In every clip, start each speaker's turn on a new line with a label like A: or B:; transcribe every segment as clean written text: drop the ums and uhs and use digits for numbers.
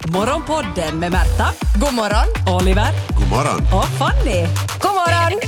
A: Morgonpodden med Märta,
B: God morgon.
A: Oliver
C: God morgon.
A: och Fanny.
B: God morgon.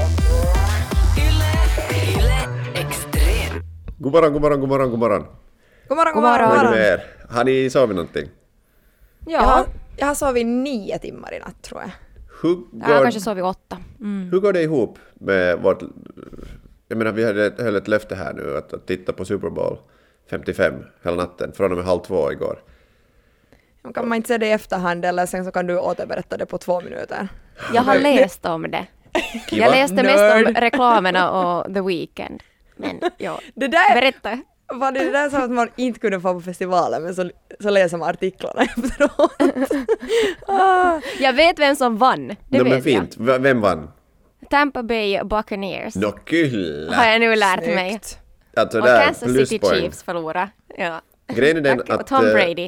C: God morgon, god morgon, god morgon, god morgon.
B: God morgon, god
C: Vad är det
B: morgon.
C: med er? Har ni sovit någonting?
B: Ja, jag har sovit 9 timmar i natt tror jag.
C: Hur
D: Jag
C: går,
D: kanske sov vid 8.
C: hur går det ihop med vårt... Jag menar, vi höll ett löfte här nu att titta på Super Bowl 55 hela natten, från och med 1:30 igår.
B: Kan man inte se det i efterhand eller sen så kan du återberätta det på 2 minuter.
D: Jag har läst om det.
C: Kiva.
D: Jag läste mest
B: Nerd.
D: om reklamerna och The Weeknd. Men ja,
B: Det där
D: berätta.
B: var det där som att man inte kunde få på festivalen men så läser man artiklarna efteråt.
D: Jag vet vem som vann. Det
C: No, men
D: vet
C: fint. Vem vann?
D: jag. Tampa Bay Buccaneers.
C: Nå, kyllä.
D: Har jag nu lärt mig.
B: Snyggt.
C: Alltså
D: Och
C: där,
D: Kansas City
C: pluspoäng.
D: Chiefs förlorade. Ja.
C: Grejen är den
D: Och
C: att...
D: Tom Brady.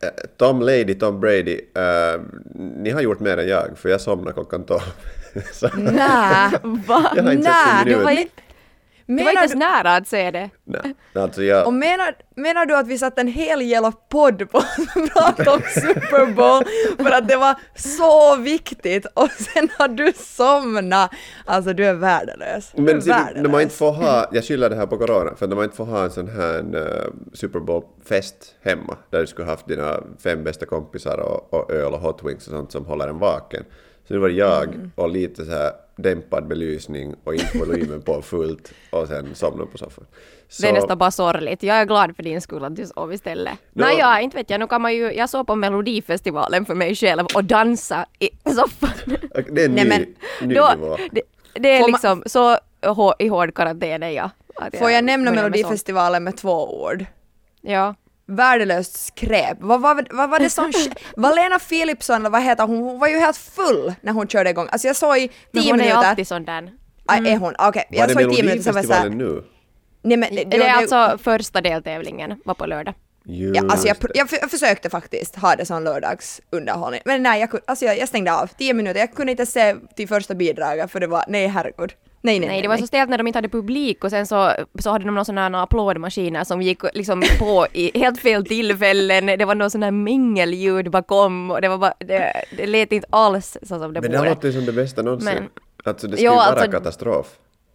C: Tom Brady, ni har gjort mer än jag, för jag somnade klockan 12. Så,
B: Nä.
D: Va?
C: jag har inte
B: Nej,
C: sett en
D: Du var,
C: minut.
D: du var inte
B: Menar
D: ens
B: du,
D: nära att se det.
C: Nej, alltså jag...
B: och menar du att vi satt en hel jävla podd på att prata om Super Bowl för att det var så viktigt och sen har du somnat. Alltså du är värdelös. Du är
C: Men
B: värdelös.
C: de har inte får ha, jag skyller det här på corona, för de har inte får ha en sån här Super Bowl-fest hemma, där du skulle haft dina 5 bästa kompisar och öl och hot wings och sånt som håller en vaken. Så nu var det jag och lite så här dämpad belysning och inte volymen på fullt och sen somna på soffan. Så,
D: Det är nästan bara sorgligt. Jag är glad för din skull att du sov istället. Nej, ja, inte vet jag. Nu kan man ju, jag såg på Melodifestivalen för mig själv och dansa i soffan.
C: det är en
B: Nej,
C: ny,
B: men
C: ny
D: Då,
C: nivå.
D: det är
B: Får man-
D: liksom så i hård karantän är jag. Att
B: Får jag nämna
D: börjar med
B: Melodifestivalen med 2 ord?
D: sånt. Ja.
B: Värdelöst skräp. Vad var det som... Valena Philipsson, eller vad heter hon var ju helt full när hon körde igång. Alltså jag såg i 10
D: Men hon
B: minuter...
D: är alltid sån där.
B: Aj, är hon? Okej,
C: Var
B: jag
C: det
B: såg i 10 minuter så var jag såhär...
C: Melodifestivalen nu?
B: Nej men...
D: Det är alltså första deltävlingen var på lördag.
B: Ja, alltså jag försökte faktiskt ha det som lördagsunderhållning. Men nej, jag stängde av 10 minuter. Jag kunde inte se till första bidraget för det var... Nej, herregud. Nej,
D: Det var så stelt när de inte hade publik och sen så hade de någon sån här applådmaskiner som gick liksom på i helt fel tillfällen. Det var någon sån här mingelljud bakom och det var bara, det lät inte alls så som det
C: Men det
D: borde.
C: låter ju som det bästa någonsin.
D: Men-
C: Alltså det skulle
D: Jo,
C: ju vara
D: alltså-
C: katastrof.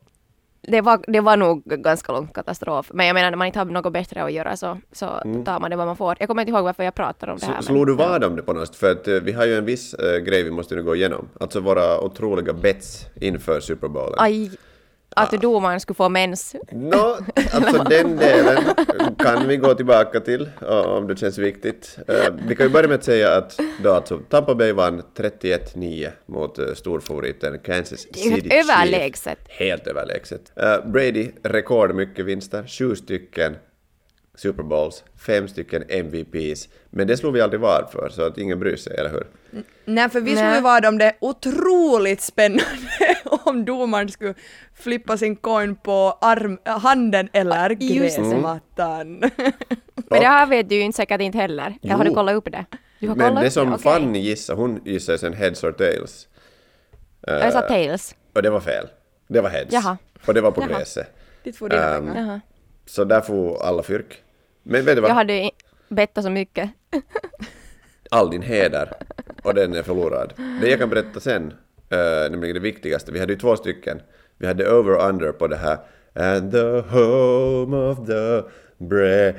D: Det var nog ganska lång katastrof. Men jag menar, när man inte har något bättre att göra så tar man det vad man får. Jag kommer inte ihåg varför jag pratar om det här.
C: Slår du vad om det på något sätt? För att vi har ju en viss grej vi måste nu gå igenom. Alltså våra otroliga bets inför Super Bowlen.
D: Aj, att domaren skulle få mens.
C: Nå, alltså den delen kan vi gå tillbaka till om det känns viktigt. Vi kan ju börja med att säga att då alltså Tampa Bay vann 31-9 mot storfavoriten Kansas City Chiefs.
D: Överlägset.
C: Helt överlägset. Brady, rekord mycket vinster, 7 stycken Super Bowls, 5 stycken MVPs. Men det slog vi aldrig vad för, så att ingen bryr sig, eller hur?
B: Nej, för vi skulle
D: Nej.
B: vara om det otroligt spännande om domaren skulle flippa sin coin på handen eller
D: just det.
B: gräsmattan.
D: Men det här vet du ju inte säkert inte heller. Eller har du
C: Jo.
D: kollat upp det? Du har
C: Men
D: kollat
C: det
D: upp
C: som
D: Okej.
C: Fanny gissade, hon gissade sen heads or tails.
D: Jag sa tails.
C: Och det var fel. Det var heads.
D: Jaha.
C: Och det var på
D: Jaha.
C: gräset.
B: Dit får dina
C: Ehm,
B: pengar.
D: Jaha.
C: Så där får alla fyrk. Men vet du vad?
D: Jag hade bettat så mycket.
C: All din heder. Och den är förlorad. Det jag kan berätta sen, nämligen det viktigaste. Vi hade ju 2 stycken. Vi hade over-under på det här. And the home of the brave.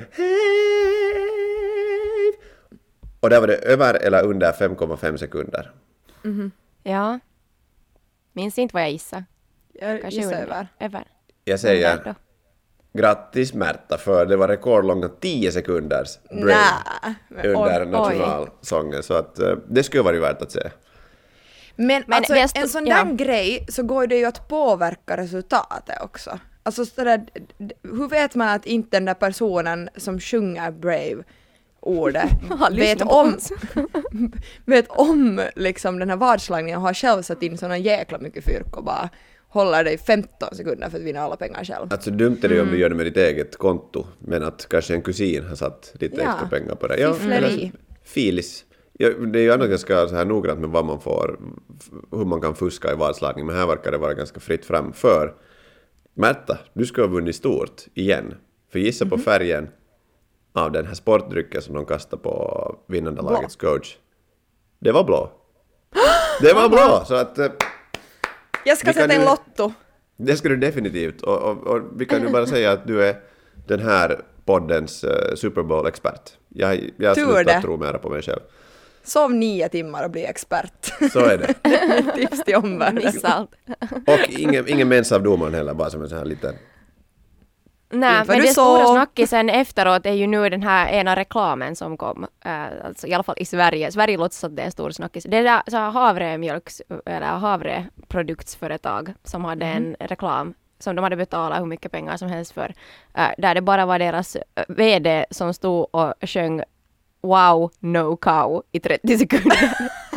C: Och där var det över eller under 5,5 sekunder.
D: Ja. Minns inte vad jag gissade.
B: Jag
D: Kanske
B: gissar
D: under.
B: över.
D: Över.
C: Jag
D: Under då.
C: säger grattis Märta, för det var rekordlånga 10 sekunders break
B: Nej, men
C: under
B: oj.
C: nationalsången. Så att det skulle vara värt att se.
B: Men alltså,
D: det
B: en sån
D: ja.
B: där grej så går det ju att påverka resultatet också. Alltså sådär, hur vet man att inte den där personen som sjunger Brave-ordet
D: Har
B: vet
D: lyssnat på
B: om,
D: oss.
B: vet om liksom den här vadslagningen och har själv satt in såna jäkla mycket fyrk och bara håller dig 15 sekunder för att vinna alla pengar själv.
C: Alltså dumt är det om du gör det med ditt eget konto, men att kanske en kusin har satt lite
B: Ja.
C: extra pengar på det.
B: Fiffleri.
C: eller filis. Ja, det är ju annars ganska så här noggrant med vad man får, hur man kan fuska i vadslagning, men här verkar det vara ganska fritt fram. För Märta, du ska ha vunnit stort igen. För gissa på färgen av den här sportdrycken som de kastade på vinnande lagets coach. Det var blå. Det var blå, så att...
B: Jag ska sätta en lotto.
C: Det ska du definitivt. Och vi kan ju bara säga att du är den här poddens Super Bowl-expert. Jag slutar tro mera på mig själv.
B: Sov 9 timmar och bli expert.
C: Så är det.
B: Tips till omvärlden.
C: Och ingen mens av domaren heller, bara som en sån här liten...
D: Nej, men det stora snackisen efteråt är ju nu den här ena reklamen som kom. Alltså i alla fall i Sverige. Sverige låtsas att det är en stor snackis. Det är så havreproduktsföretag som hade en reklam som de hade betalat hur mycket pengar som helst för. Där det bara var deras vd som stod och sjöng Wow, no cow i 30 sekunder.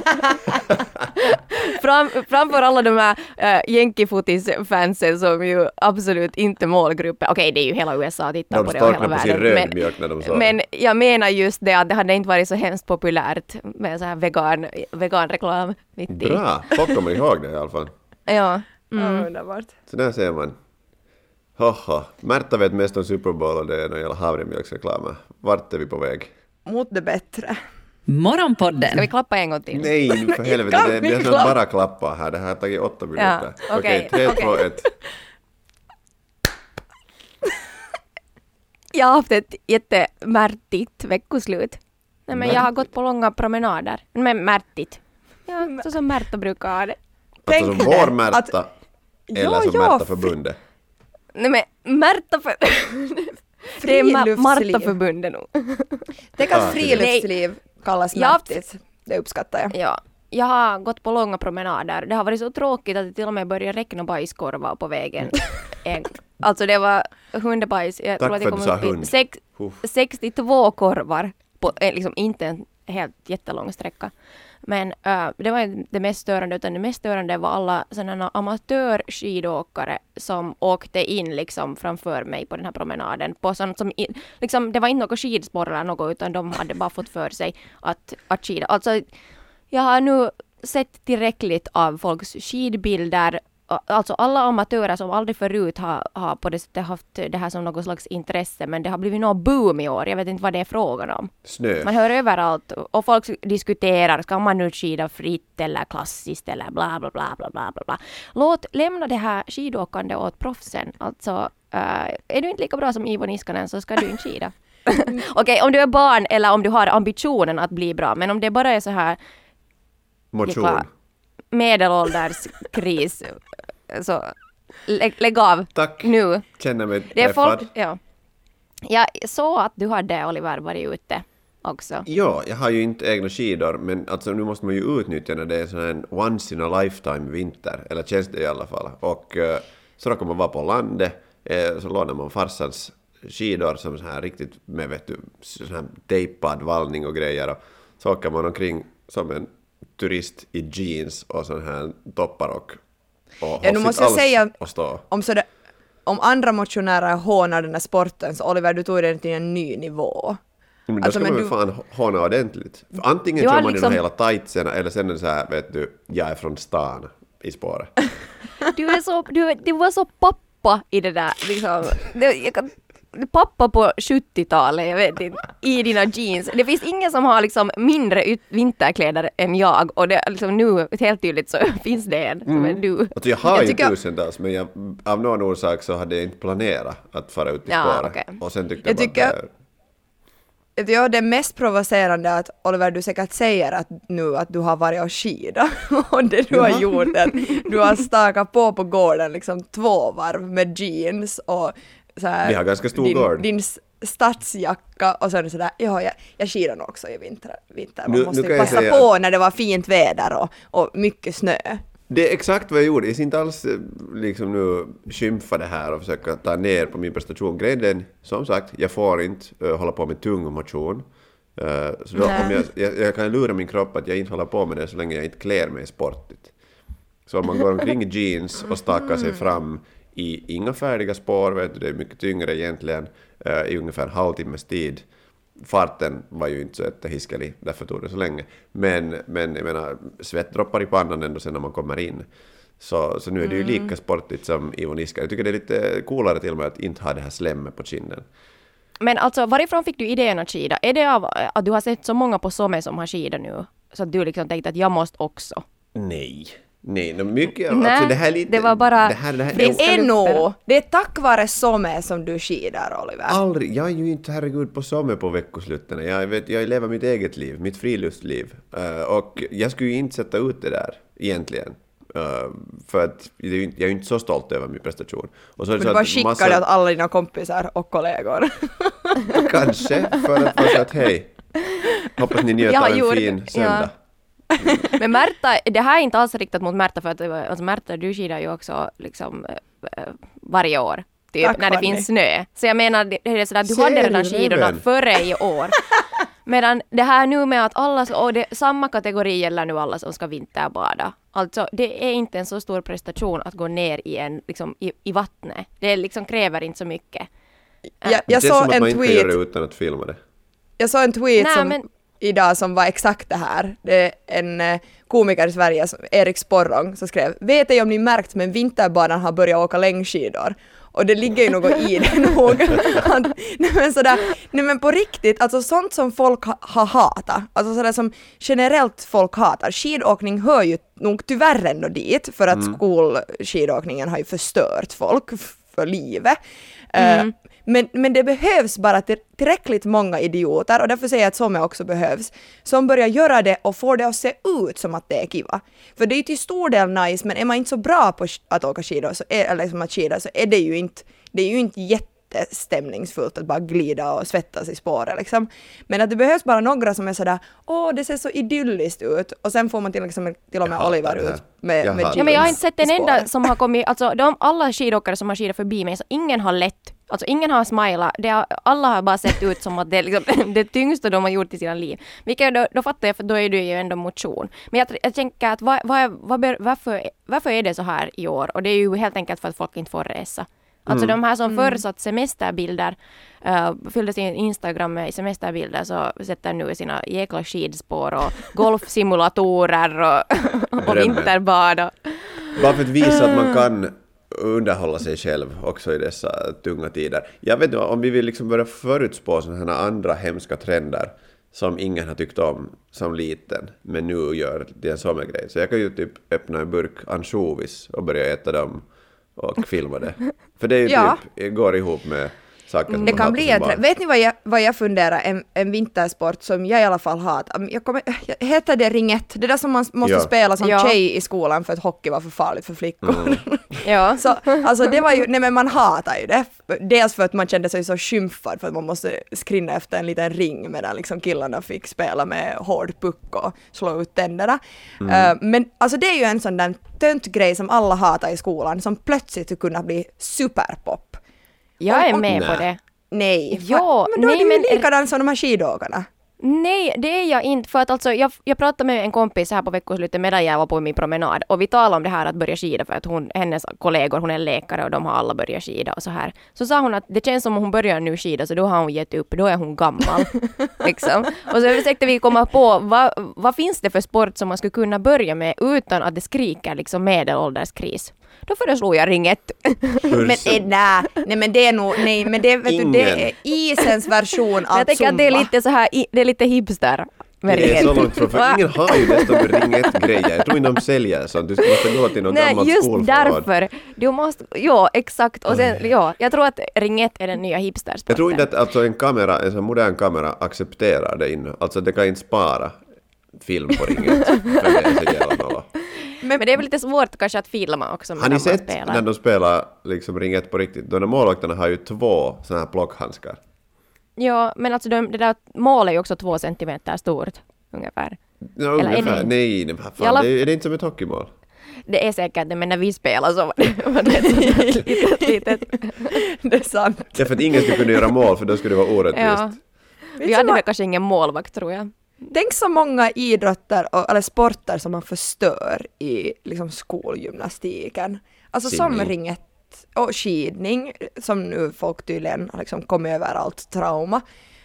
D: Framför alla de här Yankee-fotis-fansen som ju absolut inte målgrupper. Okej, det är ju hela USA tittar på det och hela världen. Men jag menar just det att det hade inte varit så hemskt populärt med så här vegan-reklam.
C: Bra, folk kommer ihåg det i alla fall.
D: Ja.
B: Underbart.
C: Så där ser man. Märta vet mest om Super Bowl och det är någon jävla havremjölksreklamer. Vart är vi på väg?
B: Mot det bättre.
A: Morgonpodden.
D: Ska vi klappa en gång till?
C: Nej, för helvete. Det blir som bara klappa här. Det här har tagit 8 minuter.
D: Ja, okej.
C: 3, 2, 1.
D: Jag har haft ett jättemärtigt veckoslut. Nej, men jag har gått på långa promenader. Men märtigt. Ja, så som Märta brukar ha det.
C: Alltså som vår Märta eller som Märta-förbundet.
D: Nej, men det är Marta-förbundet nog.
B: Det kan friluftsliv kallas märtigt. Det uppskattar jag.
D: Ja, jag har gått på långa promenader. Det har varit så tråkigt att det till och med började räkna bajskorvar på vägen. Alltså det var hundebajs. Jag tror att det kom upp i 62 korvar på liksom inte en helt jättelång sträcka. Men det var det mest störande, utan det mest störande var alla sådana amatörskidåkare som åkte in liksom framför mig på den här promenaden. På sånt som liksom, det var inte något skidspår eller något, utan de hade bara fått för sig att skida. Alltså, jag har nu sett tillräckligt av folks skidbilder. Alltså alla amatörer som aldrig förut har på det sättet haft det här som något slags intresse, men det har blivit någon boom i år. Jag vet inte vad det är frågan om.
C: Snö.
D: Man hör överallt och folk diskuterar, ska man nu skida fritt eller klassiskt eller bla bla bla bla bla bla. Lämna det här skidåkande åt proffsen. Alltså, är du inte lika bra som Ivo Niskanen så ska du inte skida. Okej, om du är barn eller om du har ambitionen att bli bra, men om det bara är så här
C: motion.
D: Medelålderskris, så lägg av.
C: Tack.
D: Nu.
C: Känner mig
D: det är
C: träffad.
D: folk, ja. Jag såg att du hade, Oliver, varit ute också.
C: Ja, jag har ju inte egna skidor, men alltså nu måste man ju utnyttja när det är sån en once in a lifetime vinter, eller känns det i alla fall. Och så då kommer man vara på landet, så lånar man farsans skidor som så här riktigt med, vet du, sån här tejpad vallning och grejer, och så åker man omkring som en turist i jeans och sån här toppar och
B: nu måste jag säga,
C: och stå.
B: Om andra motionärer hånar den här sporten, så Oliver, du tog den till en ny nivå.
C: Men då ska man ju fan håna ordentligt. För antingen kör man liksom... hela tightsen, eller sen är det så här, vet du, jag är från stan i spåret.
D: Du var så pappa i det där, liksom. Pappa på 70-talet, jag vet inte, i dina jeans. Det finns ingen som har liksom mindre vinterkläder än jag, och det liksom nu helt tydligt så finns det en som är du.
C: Alltså jag har ju tusentals, men av någon orsak så hade jag inte planerat att fara ut i spåret. Okay. Och sen tyckte jag
B: bara det är mest provocerande att Oliver, du säkert säger att nu att du har varit och skida, och det du har gjort är att du har stakat på gården liksom 2 varv med jeans och så här,
C: vi har ganska stor gård.
B: Din stadsjacka, och så är det sådär, jag skidar nog också i vinter. Man måste ju passa på när det var fint väder och mycket snö.
C: Det är exakt vad jag gjorde. Jag ska inte alls liksom nu skymfa det här och försöka ta ner på min prestation. Grejen, som sagt, jag får inte hålla på med tung motion. Så då, om jag kan lura min kropp att jag inte håller på med det så länge jag inte klär mig sportigt. Så om man går omkring i jeans och stakar sig fram i inga färdiga spår, vet du, det är mycket tyngre egentligen, i ungefär en halvtimmes tid. Farten var ju inte så jättehiskelig, därför tog det så länge. Men jag menar, svettdroppar i pannan ändå sen när man kommer in. Så nu är det ju lika sportigt som Ivo Niskanen. Jag tycker det är lite coolare till och med att inte ha det här slemmet på kinden.
D: Men alltså, varifrån fick du idén att skida? Är det av att du har sett så många på Somme som har skida nu? Så att du liksom tänkte att jag måste också?
C: Nej, mycket.
D: Nej,
C: alltså, det här är lite...
D: det var bara...
B: Det är tack vare Somme som du skidar, Oliver.
C: Aldrig. Jag är ju inte herregud på Somme på veckosluten. Jag lever mitt eget liv, mitt friluftsliv. Och jag skulle ju inte sätta ut det där egentligen. För att jag är ju inte så stolt över min prestation. Och så är det
B: Men
C: så
B: bara
C: att
B: skickar det åt alla dina kompisar och kollegor.
C: Kanske, för att få säga att hej, hoppas ni njöt av en fin söndag.
D: Men Märta, det här är inte alls riktat mot Märta, för att alltså Märta, du skidar ju också liksom varje år. Typ,
B: Tack,
D: när det
B: Fanny.
D: finns snö. Så jag menar, det är sådär, du hade redan skidorna före i år. Medan det här nu med att alla, och det, samma kategori gäller nu alla som ska vinterbada. Alltså det är inte en så stor prestation att gå ner i, liksom, i vattnet. Det liksom kräver inte så mycket.
B: Jag
C: Det är som
B: såg
C: att
B: en
C: man inte kan
B: tweet.
C: göra det utan att filma det.
B: Jag såg en tweet
D: Nej,
B: som
D: men-
B: idag som var exakt det här. Det är en komiker i Sverige, Erik Sporrong, som skrev: vet ej om ni märkt, men vinterbadan har börjat åka längdskidor. Och det ligger ju något i det nog. Nej men på riktigt, alltså sånt som folk har hatat, alltså sådär som generellt folk hatar. Skidåkning hör ju nog tyvärr ändå dit, för att skolskidåkningen har ju förstört folk för livet. Men det behövs bara tillräckligt många idioter, och därför säger jag att Somme också behövs, som börjar göra det och får det att se ut som att det är kiva. För det är ju till stor del nice, men är man inte så bra på att åka skidor eller liksom att skida, så är det ju inte jättestämningsfullt att bara glida och svettas i spåret liksom. Men att det behövs bara några som är sådär, det ser så idylliskt ut, och sen får man till och med Oliver ut med jeans.
D: Ja, men jag har inte sett en
B: i
D: enda
B: spåret.
D: som har kommit, alltså alla skidåkare som har skidat förbi mig, så ingen har lätt, alltså ingen har smilat, alla har bara sett ut som att det är liksom det tyngsta de har gjort i sina liv. Vilket då fattar jag, för då är det ju ändå motion. Men jag tänker att varför är det så här i år? Och det är ju helt enkelt för att folk inte får resa. Alltså de här som förr satt semesterbilder, fyllde sin Instagram med semesterbilder, så sätter nu sina jäkla skidspår och golfsimulatorer och vinterbad.
C: Bara för att visa att man kan underhålla sig själv också i dessa tunga tider. Jag vet inte om vi vill liksom börja förutspå sådana här andra hemska trender som ingen har tyckt om som liten, men nu gör det en sån grej. Så jag kan ju typ öppna en burk ansjovis och börja äta dem och filma det. För det är ju typ, går ihop med saker som
B: Det
C: man
B: kan
C: hatar
B: bli
C: som barn.
B: vet ni vad jag funderar, en vintersport som jag i alla fall hatar. Heter det ringett? Det där som man måste spela som tjej i skolan för att hockey var för farligt för flickor.
D: Ja.
B: Så, alltså det var ju, nej men man hatar ju det. Dels för att man kände sig så skymfad för att man måste skrinna efter en liten ring medan liksom killarna fick spela med hård puck och slå ut tänderna. Men alltså det är ju en sån där tönt grej som alla hatar i skolan, som plötsligt skulle kunna bli superpop.
D: Jag är med på det.
B: Nej,
D: Ja,
B: men då är
D: nej,
B: du ju
D: men-
B: likadan som de här skidåkarna.
D: Nej, det är jag inte. För att alltså, jag pratade med en kompis här på veckoslutet medan jag var på min promenad. Och vi talade om det här att börja skida, för att hennes kollegor, hon är läkare och de har alla börjat skida och så här. Så sa hon att det känns som om hon börjar nu skida, så då har hon gett upp, då är hon gammal. liksom. Och så försökte vi komma på vad finns det för sport som man skulle kunna börja med utan att det skriker liksom medelålderskris. Då föreslog jag ringett.
B: Men nej men det är nog, nej men det, vet du, det är isens version av
D: Jag tänker att det är lite så här, det är lite hipster.
C: Det är så långt från, för ingen har ju dessutom ringett-grejer. Jag tror inte de säljer sånt. Du måste gå till någon gammal
D: Nej, just
C: skolförråd.
D: därför. Du måste, exakt. Och sen, jag tror att ringett är den nya hipstersporten.
C: Jag tror inte att alltså, en sån modern kamera accepterar det inne. Alltså det kan inte spara film på ringet. För det är så jävla nolla.
D: Men det är väl lite svårt kanske att filma också.
C: Har ni sett när de spelar liksom ringet på riktigt? De där målvakterna har ju 2 såna här plockhandskar.
D: Ja, men alltså det där målet är ju också 2 centimeter stort, ungefär.
C: Ja,
D: Eller är
C: ungefär.
D: det-
C: Nej, vad fan,
D: Alla-
C: är det inte som ett hockeymål?
D: Det är säkert det, men när vi spelar så var det ett litet.
B: Det är sant.
C: Ja, för att ingen skulle kunna göra mål, för då skulle det vara orättvist.
D: Ja. Vi hade väl kanske ingen målvakt, tror jag.
B: Tänk så många idrotter eller sporter som man förstör i liksom skolgymnastiken. Alltså som
C: Simning.
B: ringet och skidning, som nu folk tydligen har liksom kommit över allt trauma.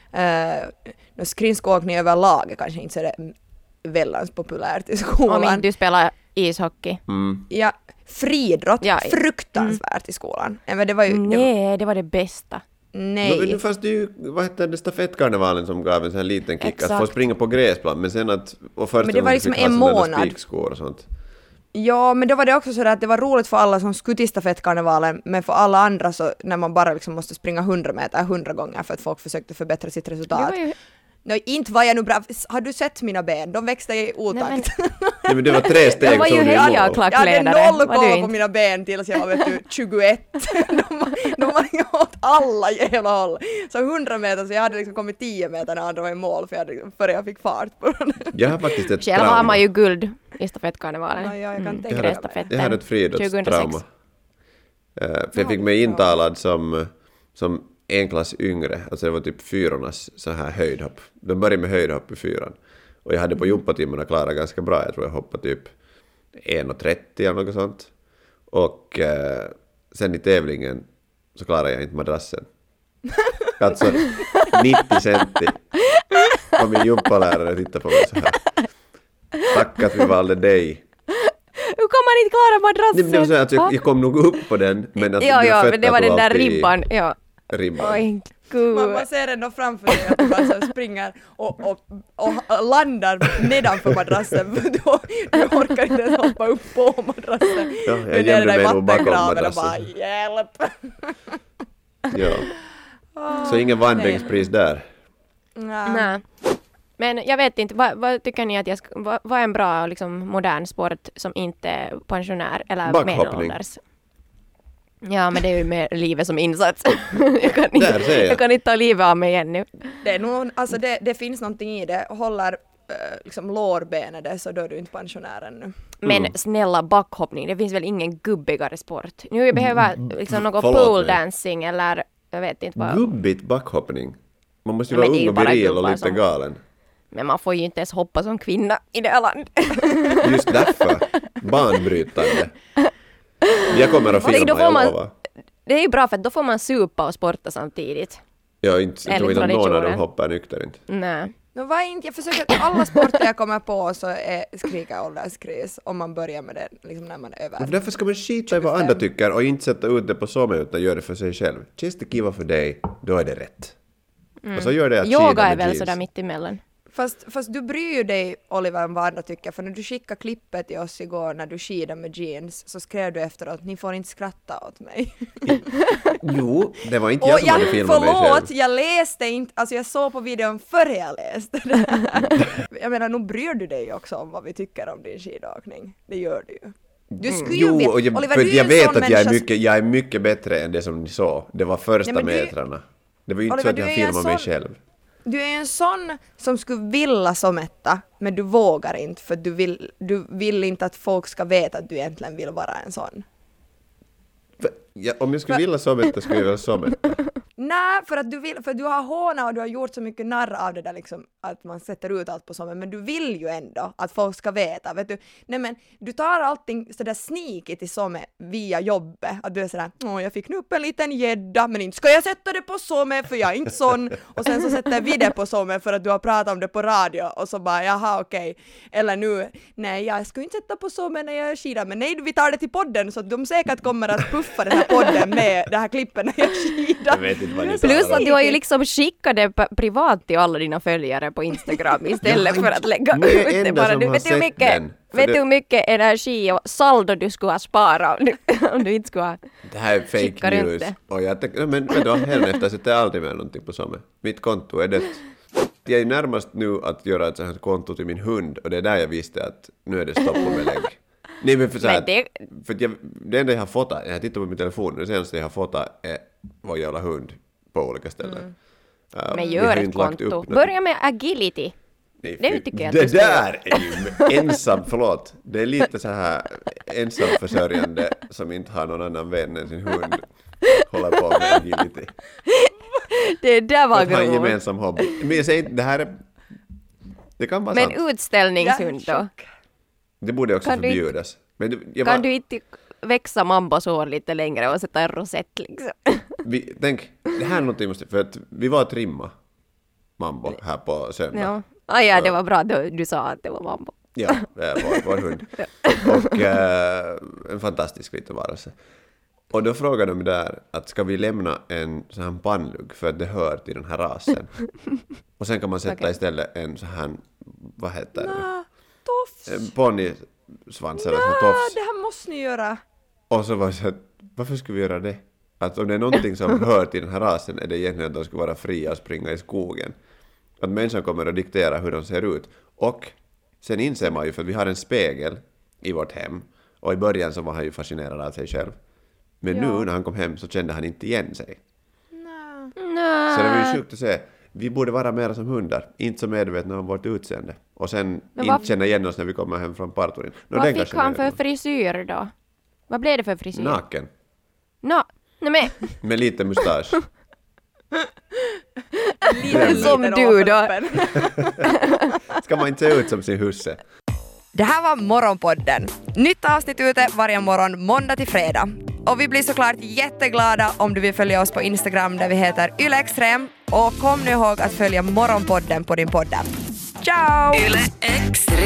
B: Skridskoåkning överlag är kanske inte så det väldans populärt i
D: Om
B: skolan.
D: inte du spelar ishockey.
B: Ja, friidrott,
D: Ja,
B: fruktansvärt i skolan. Men det var ju,
D: Nej, det var det bästa.
B: Nej.
C: Nu fanns det ju, vad hette det, stafettkarnevalen som gav en sån här liten kick.
D: Exakt.
C: Att få springa på gräsplan, men sen att... Och först
B: Men det var liksom en månad.
C: Spikskor och sånt.
B: Ja, men då var det också så att det var roligt för alla som skulle till stafettkarnevalen, men för alla andra så när man bara liksom måste springa 100 meter 100 gånger för att folk försökte förbättra sitt resultat.
D: Det var ju-
B: Nej, inte var jag nu bra. Har du sett mina ben? De växte i otakt.
C: Nej, men det var 3 steg
D: Jag var ju
C: som du
D: hejaklack.
C: mål.
B: Jag hade
D: Klackledare,
B: noll
D: var du
B: koll på
D: inte?
B: mina ben tills jag var vet du, 21. de var åt alla jävla håll. Så 100 meter, så jag hade liksom kommit 10 meter när andra var i mål före jag fick fart på den.
C: Jag har faktiskt ett
D: Själv har man ju guld i stafettkarnevalen.
B: Ja, jag kan
C: Jag
B: tänka
C: hade,
B: mig.
D: stafetten.
C: jag hade ett friidrottstrauma.
D: 2006.
C: För jag fick mig intalad som en klass yngre, alltså det var typ 4:ornas så här höjdhopp. De började med höjdhopp i 4:an. Och jag hade på gympatimmarna klarat ganska bra. Jag tror jag hoppade typ 1,30 eller något sånt. Och sen i tävlingen så klarade jag inte madrassen. Alltså 90 centi. Och min gympalärare tittade på mig så här. Tack att vi valde dig.
D: Hur kan man inte klara madrassen?
C: Det var så att jag kom nog upp på den, men att mina
D: Ja,
C: fötter
D: men det var
C: tog
D: den där
C: alltid i
D: ribban. Ja.
C: ribban.
D: Oj, gud.
B: Man ser ändå framför sig att du bara så springer och landar nedanför madrassen. För du orkar inte ens hoppa upp på madrassen.
C: Ja, jag
B: Men det är
C: gömde
B: där i
C: mig nog bakom
B: vattengraven och
C: madrassen.
B: bara hjälp.
C: Ja. Så ingen vandringspris där.
D: Nej. Men jag vet inte, vad tycker ni att vad är en bra liksom, modern sport som inte är pensionär eller
C: Backhoppning.
D: medelålders? Ja, men det är ju med livet som insats.
C: Där ser jag.
D: Jag kan inte ta livet av mig ännu.
B: Det är nog, alltså det finns någonting i det. Håller liksom lårbenet det, så då är du inte pensionär ännu.
D: Men snälla backhoppning, det finns väl ingen gubbigare sport? Nu jag behöver liksom något
C: Förlåt
D: pole
C: mig.
D: dancing eller jag vet inte vad.
C: Gubbigt backhoppning. Man måste ju
D: Men
C: vara
D: det är ju
C: ung och
D: bara
C: viril och
D: gubbar
C: lite
D: som-
C: galen.
D: Men man får ju inte ens hoppa som kvinna i det här landet.
C: Just därför. Banbrytande. Jag kommer att
D: Då
C: filma,
D: får
C: jag
D: man-
C: lovar.
D: Det är ju bra för att då får man supa och sporta samtidigt.
C: Jag tror
D: Enligt
C: inte att någon av dem
D: traditionen.
C: hoppar nykter inte.
D: Nej.
B: No, vad inte, jag försöker alla sporter jag kommer på så skriker jag ålderskris om man börjar med det liksom när man är över.
C: Men därför ska man skita i vad andra tycker och inte sätta ut det på sommar utan göra det för sig själv. Känns det kiva för dig, då är det rätt. Och så gör det att skida
D: Yoga är
C: med
D: väl
C: jeans.
D: sådär mitt emellan.
B: Fast du bryr ju dig, Oliver, om vad andra tycker, för när du skickade klippet till oss igår när du skidade med jeans så skrev du efteråt, ni får inte skratta åt mig.
C: Jo, det var inte
B: Och
C: jag som hade filmat mig själv.
B: förlåt, jag läste inte, alltså jag såg på videon före jag läste det här. Jag menar, nu bryr du dig också om vad vi tycker om din skidåkning. Det gör du ju. Du skulle ju
C: Jo,
B: veta,
C: och jag,
B: Oliver,
C: för
B: du är
C: jag
B: en
C: vet
B: sån
C: att jag
B: människa-
C: är mycket bättre än det som ni såg. Det var första
B: Nej, men du-
C: metrarna. Det var ju inte
B: Oliver,
C: så att
B: du
C: jag
B: är en
C: filmade mig
B: sån-
C: själv.
B: Du är en sån som skulle vilja som etta, men du vågar inte för du vill inte att folk ska veta att du egentligen vill vara en sån.
C: Om jag skulle vilja sometta skulle jag vilja sometta.
B: Nej, för du har hånat och du har gjort så mycket narr av det där liksom, att man sätter ut allt på sommaren, men du vill ju ändå att folk ska veta, vet du. Nej men, du tar allting sådär sneaky i sommar via jobbet, att du är sådär, jag fick nu upp en liten gädda, men inte ska jag sätta det på sommar för jag är inte sån, och sen så sätter vi det på sommar för att du har pratat om det på radio, och så bara, jaha okej, eller nu, nej jag ska inte sätta på sommar när jag skidar, men nej vi tar det till podden så att de säkert kommer att puffa den här podden med det här klippen när jag skidar.
C: Jag vet inte vad ni
D: Plus
C: talar
D: att
C: om.
D: du har ju liksom skickat det privat till alla dina följare på Instagram istället för att lägga
C: Nu är jag
D: ut det
C: enda
D: bara.
C: som
D: Du
C: har
D: vet hur
C: sett
D: mycket,
C: den. För
D: vet
C: det-
D: du hur mycket energi och saldo du skulle ha sparat om du inte skulle ha...
C: Det här är
D: Skickar
C: fake
D: inte.
C: news. Och jag tänkte, men då hädanefter sätter jag aldrig med någonting på sommar. Mitt konto är dött. Jag är närmast nu att göra ett sånt här konto till min hund och det är där jag visste att nu är det stopp och belägg. Nej men för så här,
D: Men det-
C: för att det enda jag har fotat, jag har tittat på min telefon, det senaste jag har fotat är vår jävla hund på olika ställen.
D: Men
C: vi
D: gör
C: har
D: ett
C: inte lagt upp
D: konto.
C: något.
D: Börja med agility.
C: Nej,
D: Det
C: fy-
D: tycker jag att
C: det
D: du ska
C: där är ju ensam, förlåt. Det är lite så här ensamförsörjande som inte har någon annan vän än sin hund. Håller på med agility.
D: Det där var
C: Att ha en
D: grovt.
C: gemensam hobby. Men jag säger inte, det här är... Det kan vara
D: Men
C: sant.
D: utställningshund då?
C: Det borde också
D: kan du inte-
C: förbjudas. Men
D: Kan du inte växa mambos hår lite längre och sätta en rosett liksom?
C: tänk, det här är någonting måste... För att vi var att rimma mambo här på söndag.
D: Ja. Ja, det var bra då du sa att det var mambo.
C: Ja, vår hund. Och en fantastisk liten varelse. Och då frågar de där att ska vi lämna en sån här pannlugg för att det hör till den här rasen. Och sen kan man sätta istället en sån här, vad heter det?
B: Tofs.
C: Ponnysvans eller sån tofs.
B: Det här måste ni göra.
C: Och så var det så att, varför skulle vi göra det? Att om det är någonting som hör till den här rasen är det egentligen att de ska vara fria och springa i skogen. Att människan kommer att diktera hur de ser ut. Och sen inser man ju, för vi har en spegel i vårt hem. Och i början så var han ju fascinerad av sig själv. Men nu när han kom hem så kände han inte igen sig.
D: Nej.
C: Så det var ju sjukt att se. Vi borde vara mer som hundar. Inte så medvetna om vårt utseende. Och sen inte känna igen oss när vi kommer hem från parturin.
D: Vad fick han för frisyr då? Vad blev det för frisyr?
C: Naken.
D: Nej men.
C: Med lite mustasch.
B: Lite
D: som du då.
C: Ska man inte se ut som sin husse?
B: Det här var Morgonpodden. Nytt avsnitt ute varje morgon måndag till fredag. Och vi blir såklart jätteglada om du vill följa oss på Instagram där vi heter YleExtrem. Och kom nu ihåg att följa Morgonpodden på din podd. Ciao!
A: Yle Extrem.